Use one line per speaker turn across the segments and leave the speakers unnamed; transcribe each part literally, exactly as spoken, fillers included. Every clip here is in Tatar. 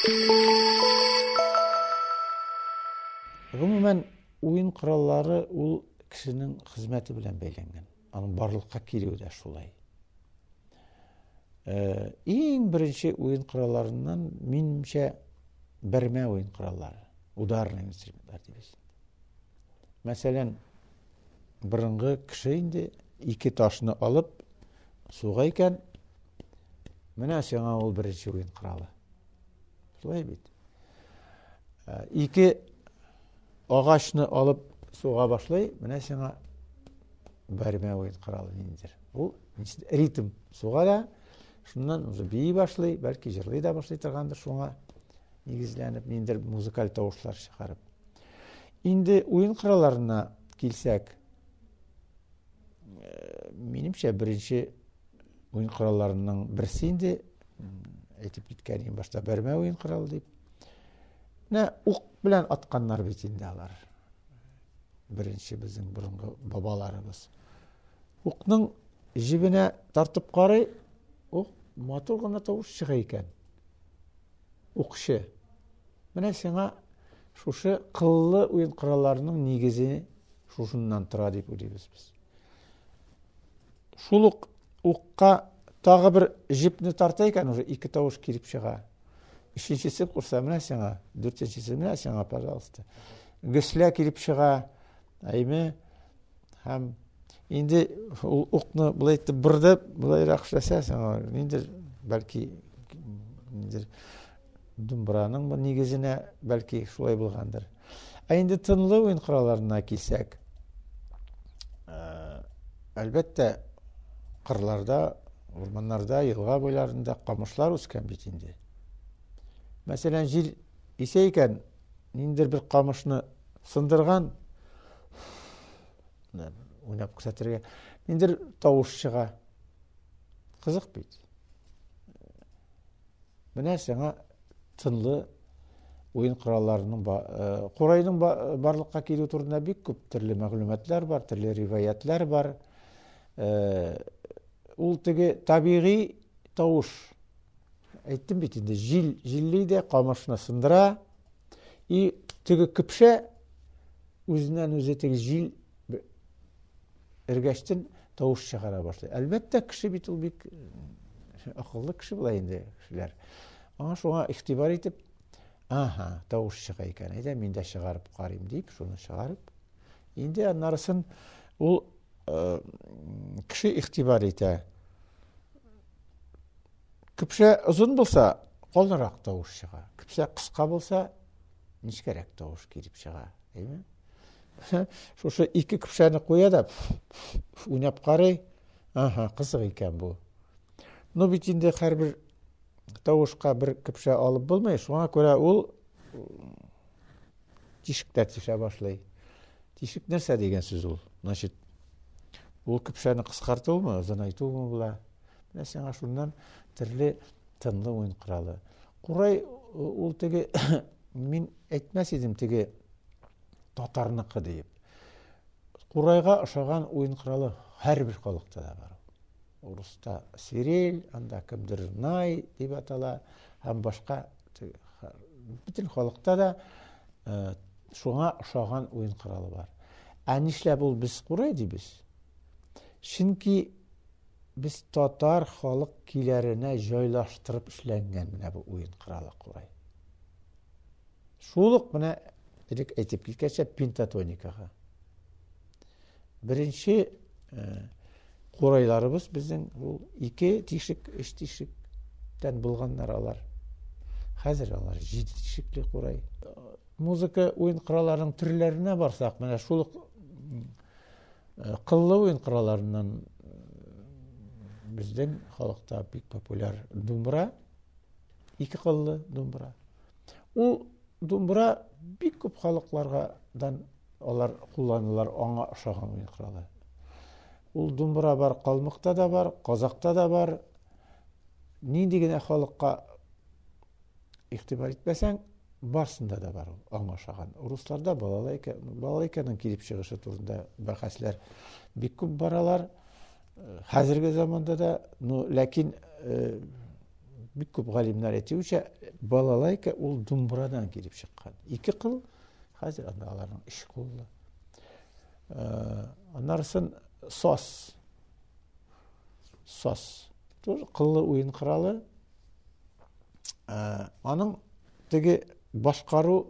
Гомумән, уен кораллары ул кешенең хезмәте белән бәйләнгән. Аның барлыкка килүе дә шулай. Иң беренче уен коралларыннан минемчә бәрмә уен кораллары, ударный инструментлар дибез. Мәсәлән, борынгы кеше инде ике ташны алып суга икән, менә сиңа ул беренче уен коралы. Шулай бит. Ике агачны алып суга башлый, менә сиңа бәрмә уен коралы ниндидер. Ул ритм суга да, шуннан уже бии башлый, бәлки җырлый да башлый торгандыр, шуңа нигезләнеп ниндидер музыкаль тавышлар чыгарып. Инде уен коралларына килсәк, минемчә беренче уен коралларының берсе инде әйтеп киткән башта бәрмә уен коралы дип. Менә ук белән атканнар бит инде алар. Беренче безнең борынгы бабаларыбыз. Укның җибенә тартып карый, ук матур гына тавыш чыга икән. Укчы. Менә сиңа шушы кыллы уен коралларының нигезе шушыннан тора дип уйлыйбыз без. Шул ук укка тагы бер җипне тарта икән, уже ике тавыш килеп чыга. Өченчесе курса менә сиңа, дүртенчесе менә сиңа, пожалуйста. Гөслә килеп чыга. Әйме, һәм инде ул укны булай итеп бирде, булайрак эшләсә, сиңа ниндидер бәлки ниндидер думбраның нигезенә бәлки шулай булгандыр. Ә инде тынлы уен коралларына килсәк, әлбәттә кырларда, урманнарда, елга буйларында камышлар үскән бит инде. Мәсәлән, җил исә икән, ниндидер бер камышны сындырган, уйнап күрсәтергә, ниндидер тавыш чыга. Кызык бит. Менә сиңа тынлы уен коралларының Курайның барлыкка килү турында бик күп төрле мәгълүматлар бар, төрле риваятлар бар. Ул теге табигый тавыш. Әйттем бит инде, җил җилле дә камышны сындыра, и теге көпшә үзеннән үзе теге җил эргәштен тавыш чыгара башлый. Әлбәттә, кеше бит ул бик акыллы кеше була инде кешеләр. Аңа шуңа игътибар итеп, аха, тавыш чыга икән, әйдә мин дә чыгарып карыйм дип, шуны чыгарып, инде аннарысын ул кеше игътибар итә. Көпшә озын булса, калынрак тавыш чыга. Көпшә кыска булса, ничкәрәк тавыш килеп чыга, әйме? Шушы ике көпшәне куя да уйнап карый. Аха, кызык икән бу. Ну бит инде һәрбер тавышка бер көпшә алып булмый, шуңа күрә ул тишектә тишә башлый. Тишек нәрсә дигән сүз ул? Значит, ул көпшәне кыскартуымы, озынайтуымы була? Менә сиңа шуннан төрле тынлы уен коралы. Курай ул теге мин әйтмәс идем теге татарныкы дип. Курайга ошаган уен коралы һәрбер халыкта да бар. Урыста свирель, анда кемдер най дип атала, һәм башка бөтен халыкта да шуңа ошаган уен коралы бар. Ә нишләп ул без курай дибез? Чөнки без татар халык киләренә җайлаштырып эшләнгән менә бу уен коралы курай. Шул ук менә дирек әйтеп киткәнчә пентатоникага. Беренче курайларыбыз безнең ул ике тишек, өч тишектән булганнар алар. Хәзер алар җиде тишекле курай. Музыка уен коралларының төрләренә барсак, менә шул кыллы уен коралларыннан безнең халыкта бик популяр думбра, ике кыллы думбра. Ул думбра бик күп халыклардан алар кулланылар, аңа ошаган уен коралы. Ул думбра бар, калмыкта да бар, казакта да бар. Нинди генә халыкка игътибар итмәсәң, барсында да бар ул, аңа ошаган. Русларда балалайканың килеп чыгышы турында бәхәсләр бик күп баралар. Хәзерге заманда да, ну, ләкин бик күп галимнар әйтүчә, балалайка ул думбрадан килеп чыккан. Ике кыл хәзер анда аларның иш кулы. Аннарсын сос. Сос. Тур кыллы уен коралы. Аның теге башкару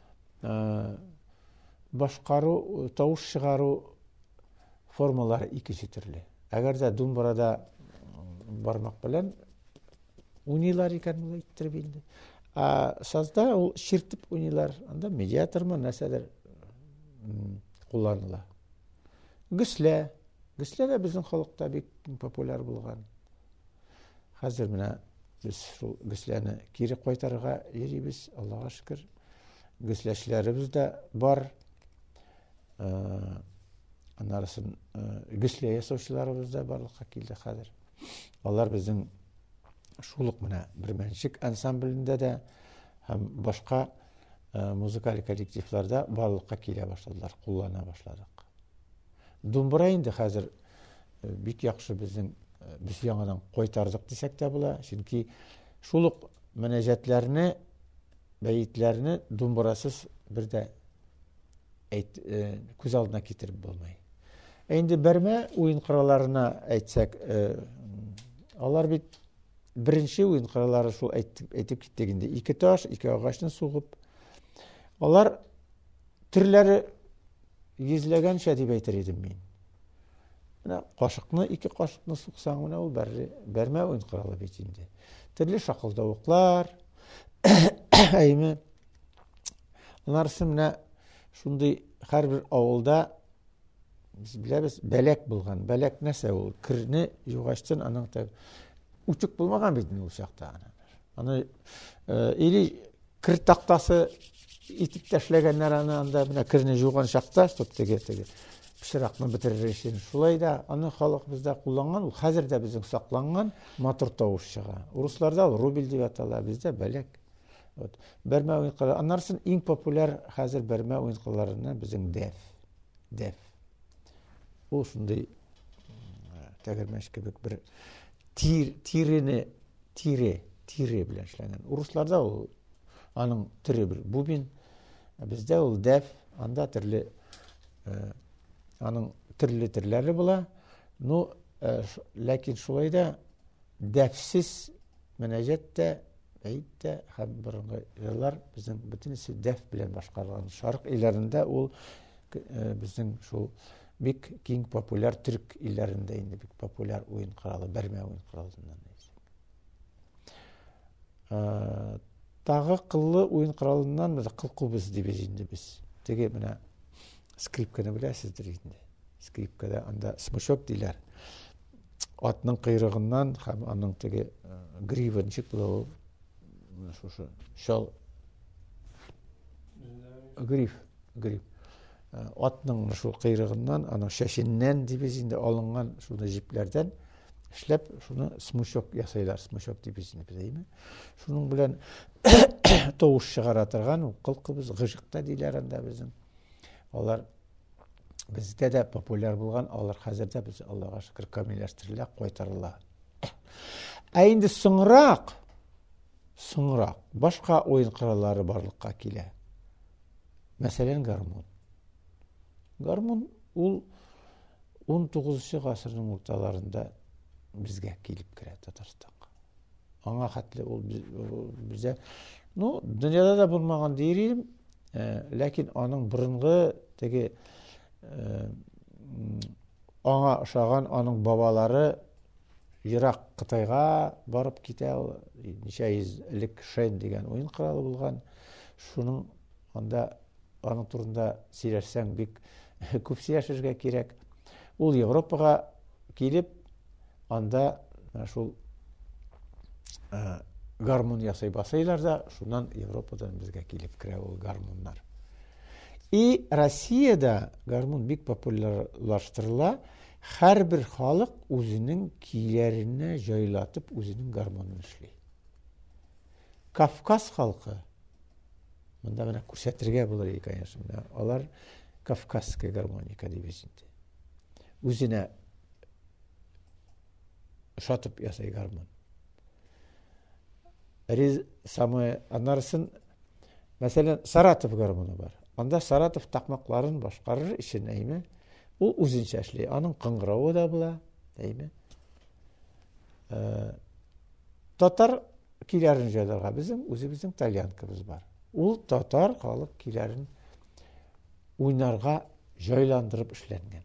башкару, тавыш чыгару формалары икенче төрле. Әгәр дә думбрада бармак белән уйныйлар икән ул әйттереп инде. А сазда ул ширтеп уйныйлар. Анда медиатормы, нәрсәдер кулланыла. Гөслә. Гөслә дә безнең халыкта бик популяр булган. Хәзер менә без шул гөсләне кире кайтарырга йөрибез, Аллага шөкер. Гөсләшләребез дә бар. Аннарысын гөслә ясаучыларыбыз да барлыкка килде хәзер. Алар безнең шулык менә бирмәнчек ансамблендә дә һәм башка музыкаль коллективларда барлыкка килә башладылар, куллана башладык. Думбра инде хәзер бик яхшы безнең без яңадан кайтардык дисәк тә була, чөнки шулык мөнәҗәтләрне, бәйетләрне думбрасыз бер дә әйт күз алдына китереп булмый. Инде бәрмә уен коралларына әйтсәк, алар бит беренче уен кораллары шул әйтеп киттек инде. Ике таш, ике агачны сугып. Алар төрләре йөзләгәнчә дип әйтер идем мин. Менә кашыкны, ике кашыкны суксаң, менә ул бәрмә уен коралы бит инде. Төрле шакылдавыклар, әйме. Аннарсы менә шундый һәрбер авылда biz bilәбез, бәләк булган. Бәләк нәрсә ул? Кирне югачтан аның та учук булмаган бит ул чакта. Аны или кир тактасы итеп ташләгәннәр аны анда менә кирне юган чакта, чтоб теге теге пишракны бетерер өчен. Шулай да аны халык бездә кулланган, ул хәзер дә безнең сакланган матур тавыш чыга. Русларда ул рубель дип атала, бездә бәләк. Вот. Бәрмә уен коралы. Аннарсын иң популяр хәзер бәрмә уен коралларыннан безнең дәф. Дәф. Ул шундый тәгәрмәч кебек бер тир, тирене, тире, тире белән эшләнгән. Русларда ул аның төре бер бубен, бездә ул дәф, анда төрле аның төрле төрләре була. Ну, ләкин шулай да дәфсез мөнәҗәттә, әйтә һәм борынгы җырлар безнең бөтенесе дәф белән башкарылган. Шарык илләрендә ул безнең шул бик киң популяр төрк илләрендә инде бик популяр уен коралы, бәрмә уен коралыннан. Тагы кыллы уен коралыннан без кылкубыз дибез инде біз. Теге менә скрипканы беләсездер инде. Скрипкада анда смычок диләр. Атның кыйрыгыннан һәм аның теге гривенчик булу шушы шал гриф, гриф. Атның шул кыйрыгыннан, аның шәшеннән дибез инде алынган шуны җипләрдән эшләп, шуны смычок ясайлар, смычок дибез инде бездә. Шуның белән тавыш чыгара торган кылкыбыз, гыжыкта диләр анда безнең. Алар бездә дә популяр булган, алар хәзердә без Аллага шөкер камилләштерелә, кайтарыла. Ә инде соңрак, соңрак башка уен кораллары барлыкка килә. Мәсәлән, гармун. Гармун ул он тугызынчы гасырның урталарында безгә килеп керә Татарстанга. Аңа хәтле ул бездә, ну, дөньяда да булмаган дирим, ләкин аның борынгы теге аңа ошаган аның бабалары ерак Кытайга барып китә, ничә йөз элек шән дигән уен коралы булган. Шуның анда аның турында сөйләшсәң бик күп сөйләшергә кирәк. Ул Европага килеп, анда шул гармун ясый басайлар да, шуннан Европадан безгә килеп керә ул гармуннар. И Россиядә гармун бик популярлаштырыла. Һәрбер халык үзенең кийләренә җайлатып үзенең гармунын эшли. Кавказ халкы, монда менә күрсәтергә булыр икән, конечно. Алар кавказская гармоника дибез инде. Үзенә шатып ясай гармун. самый анарсын, мәсәлән, Саратов гармоны бар. Анда Саратов тақмакларын башкарыр өчен әйме, ул үзенчә эшли. Аның кыңгыравы да була, әйме. Татар киләрен җайларга безнең үзебезнең тальянкабыз бар. Ул татар халык киләрен уйнарга җайландырып эшләнгән.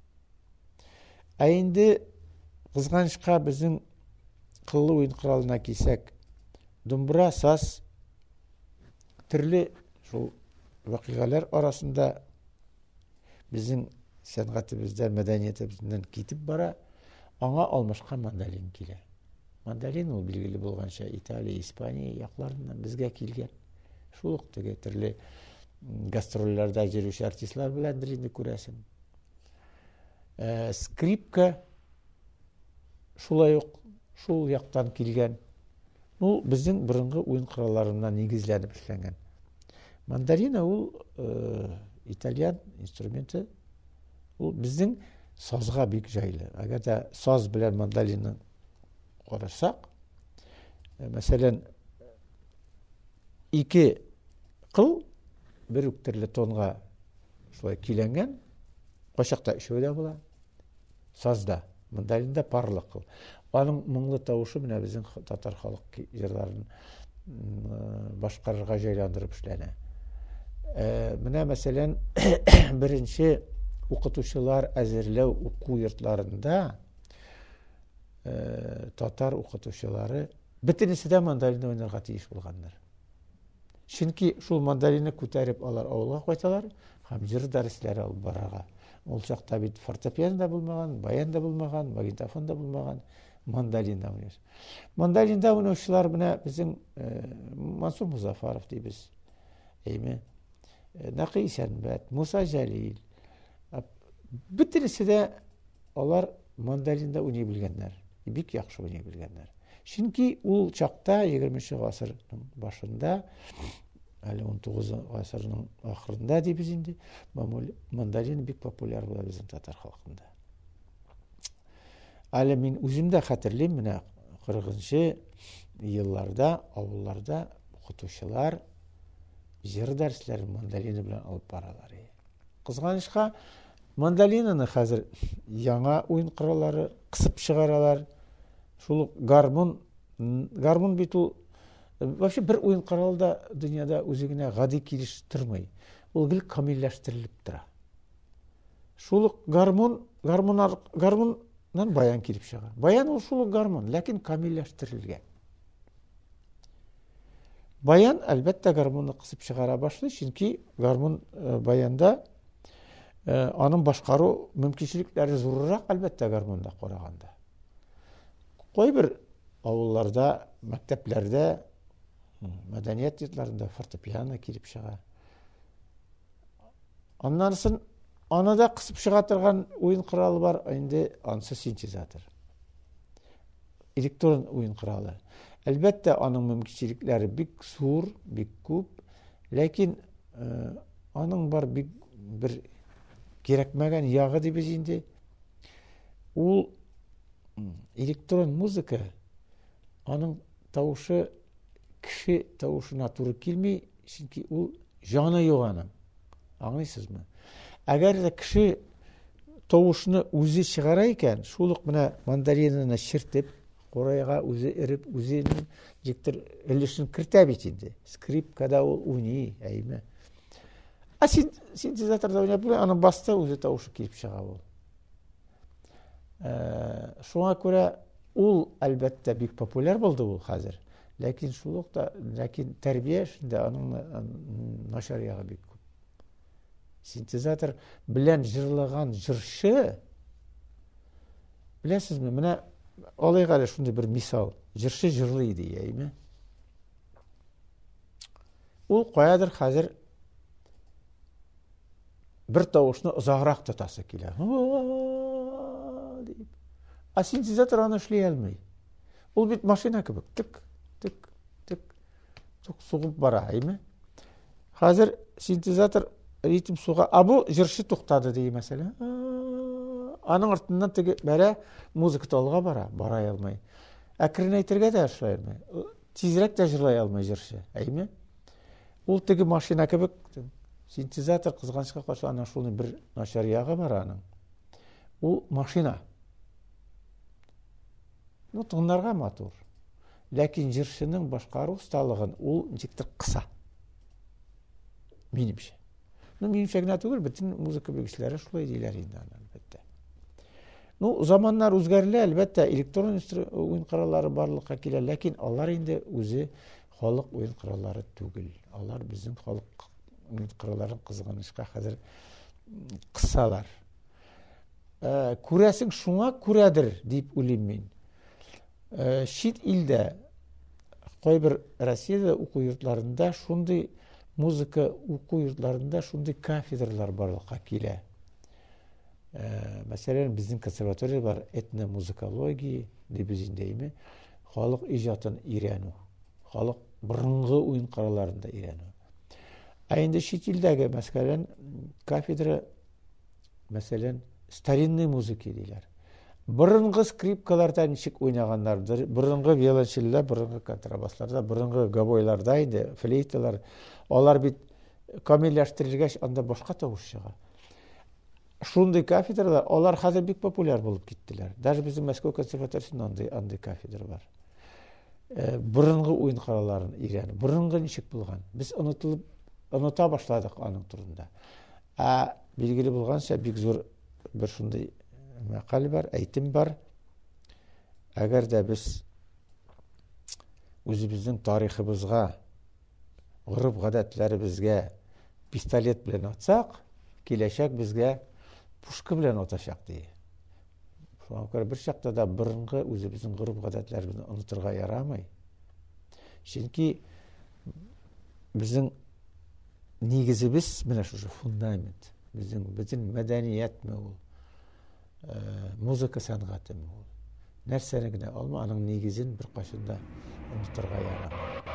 Ә инде кызганычка безнең кыллы уен коралына килсәк, думбра, саз, төрле шул вакыйгалар арасында безнең сәнгатебездән, мәдәниятебездән китеп бара, аңа алмашка мандолин килә. Мандолин ул билгеле булганча Италия, Испания якларыннан безгә килгән. Шул ук теге төрле гастрольләрдә йөрүче артистлар белән инде күрәсең. Э, скрипка шулай ук шул яктан килгән. Ул безнең борынгы уен коралларыннан нигезләнеп эшләнгән. Мандолина ул э, итальян инструменты. Ул безнең сазга бик җайлы. Әгәр дә саз белән мандолинны карасак, мәсәлән, ике кыл бер үк төрле тонга шулай киләнгән, кайчакта өчәү дә була. Сазда, мандолинда парлы кыл. Аның моңлы тавышы менә безнең татар халык җырларын башкарырга җайландырып эшләнә. Э, менә мәсәлән, беренче укытучылар әзерләү уку йортларында э, татар укытучылары бөтенесе дә мандолинда уйнарга тиеш булганнар. Чөнки шул мандолинны күтәреп алар авылга кайталар һәм җыр дәресләре алып барырга. Ул чакта бит фортепиано да булмаган, баян да булмаган, магнитофон да булмаган, мандолинда уйнаш. Мандолинда уйнаучылар менә безнең э, Мансур Музафаров дибез. Әйме, Нақи Сәнбәт, Муса Җәлил. Бөтенесе дә алар мандолинда уйный белгәннәр. Бик яхшы уйный белгәннәр. Чөнки ул чакта егерменче гасырның башында, әле он тугызынчы гасырның ахырында дибез инде, мандолин бик популяр була безнең татар халкында. Әле мин үзем дә хәтерлим, менә кырыгынчы елларда авылларда укытучылар җыр дәресләрен мандолин белән алып баралар. Кызганычка, мандолинаны хәзер яңа уен кораллары кысып чыгаралар. Шул гармон, гармон бит ул вообще бер уен коралы да дөньяда үзе генә гади килеш тормый. Ул гел камилләштерелеп тора. Шул гармон, гармон, гармоннан баян килеп чыга. Баян ул шул гармон, ләкин камилләштерелгән. Баян әлбәттә гармонны кысып чыгара башлый, чөнки гармон баянда аның башкару мөмкинчелекләре зуррак әлбәттә гармонда караганда. Кайбер авылларда, мәктәпләрдә, мәдәният йортларында фортепиано килеп чыга. Аннан соң аны да кысып чыга торган уен коралы бар, инде анысы синтезатор. Электрон уен коралы. Әлбәттә аның мөмкинчелекләре бик зур, бик күп, ләкин э, аның бар бик бер кирәкмәгән ягы дибез инде. Ул электрон музыка, аның тавышы кеше тавышына туры килми, чөнки ул җаны юк аның. Аңлыйсызмы? Әгәр дә кеше тавышны үзе чыгара икән, шул ук менә мандолинаны чиртеп, корайга үзе иреп, үзенең җиктер өлешен кертә бит инде. Скрипкада ул уйный, әйме. Ә синтезаторда уйнап, аның басты үзе тавышы килеп чыга ул. Шуңа күрә ул әлбәттә бик популяр булды ул хәзер. Ләкин шул ук та, ләкин тәрбия эшендә аның начар ягы бик күп. Синтезатор белән җырлаган җырчы, беләсезме, менә алайга да шундый бер мисал, җырчы җырлый иде, әйме. Ул каядыр хәзер бер тавышны озаграк тотасы килә. А синтезатор аны эшли алмый. Ул бит машина кебек, тик, тик, тик, тик сугып бара, әйме. Хәзер синтезатор ритм суга, а бу җырчы туктады ди мәсәлән. Аның артыннан теге бәрә музыка талга бара, бара алмый. Әкрен әйтергә дә эшләй алмый. тизрәк тә җырлай алмый җырчы, әйме? Ул теге машина кебек, синтезатор кызганычка каршы ана шуның бер начар ягы бар аның. Ул машина. Ну, тыңларга матур. Ләкин җырчының башкару осталыгын ул ничектер кыса. Минемчә. Ну, минемчә генә түгел, бөтен музыка белгечләре шулай диләр инде аны, әлбәттә. Ну, заманнар үзгәрелә, әлбәттә, электрон уен кораллары барлыкка килә, ләкин алар инде үзе халык уен кораллары түгел. Алар безнең халык уен коралларын кызганычка хәзер кысалар. Э, күрәсең шуңа күрәдер дип уйлыйм мин. Э, шит илдә, кайбер Россиядә уку йортларында шундый музыка уку йортларында шундый кафедралар барлыкка килә. Э, мәсәлән, безнең консерватория бар, этномузыкология дип без индәйме, халык иҗатын өйрәнү, халык борынгы уен коралларында өйрәнү. Ә инде шит илдәге, мәсәлән, кафедра, мәсәлән, старинный музыка диләр. Борынгы скрипкаларда ничек уйнаганнардыр, борынгы виолончельләр, борынгы контрабасларда, борынгы гобойларда инде, флейталар, алар бит камилләштерелгәч, анда башка тавыш чыга. Шундый кафедралар, алар хәзер бик популяр булып киттеләр. Даже безнең Мәскәү консерваториясында андый андый кафедра бар. Э, борынгы уен коралларын өйрәнү, борынгы ничек булган. Без онытылып, оныта башладык аның турында. Ә билгеле булганча, бик зур бер шундый мәкаль бар, әйтем бар. Әгәр дә без үзебезнең тарихыбызга, гореф-гадәтләребезгә пистолет белән атсак, киләчәк безгә пушка белән атачак ди. Шуңа күрә бер чакта да борынгы үзебезнең гореф-гадәтләребезне онытырга ярамый. Чөнки безнең нигезебез менә шушы фундамент. Безнең бөтен мәдәниятме ул, музыка сәнгатеме ул. Нәрсәне генә алма, аның нигезен бер кашында онытырга ярамый.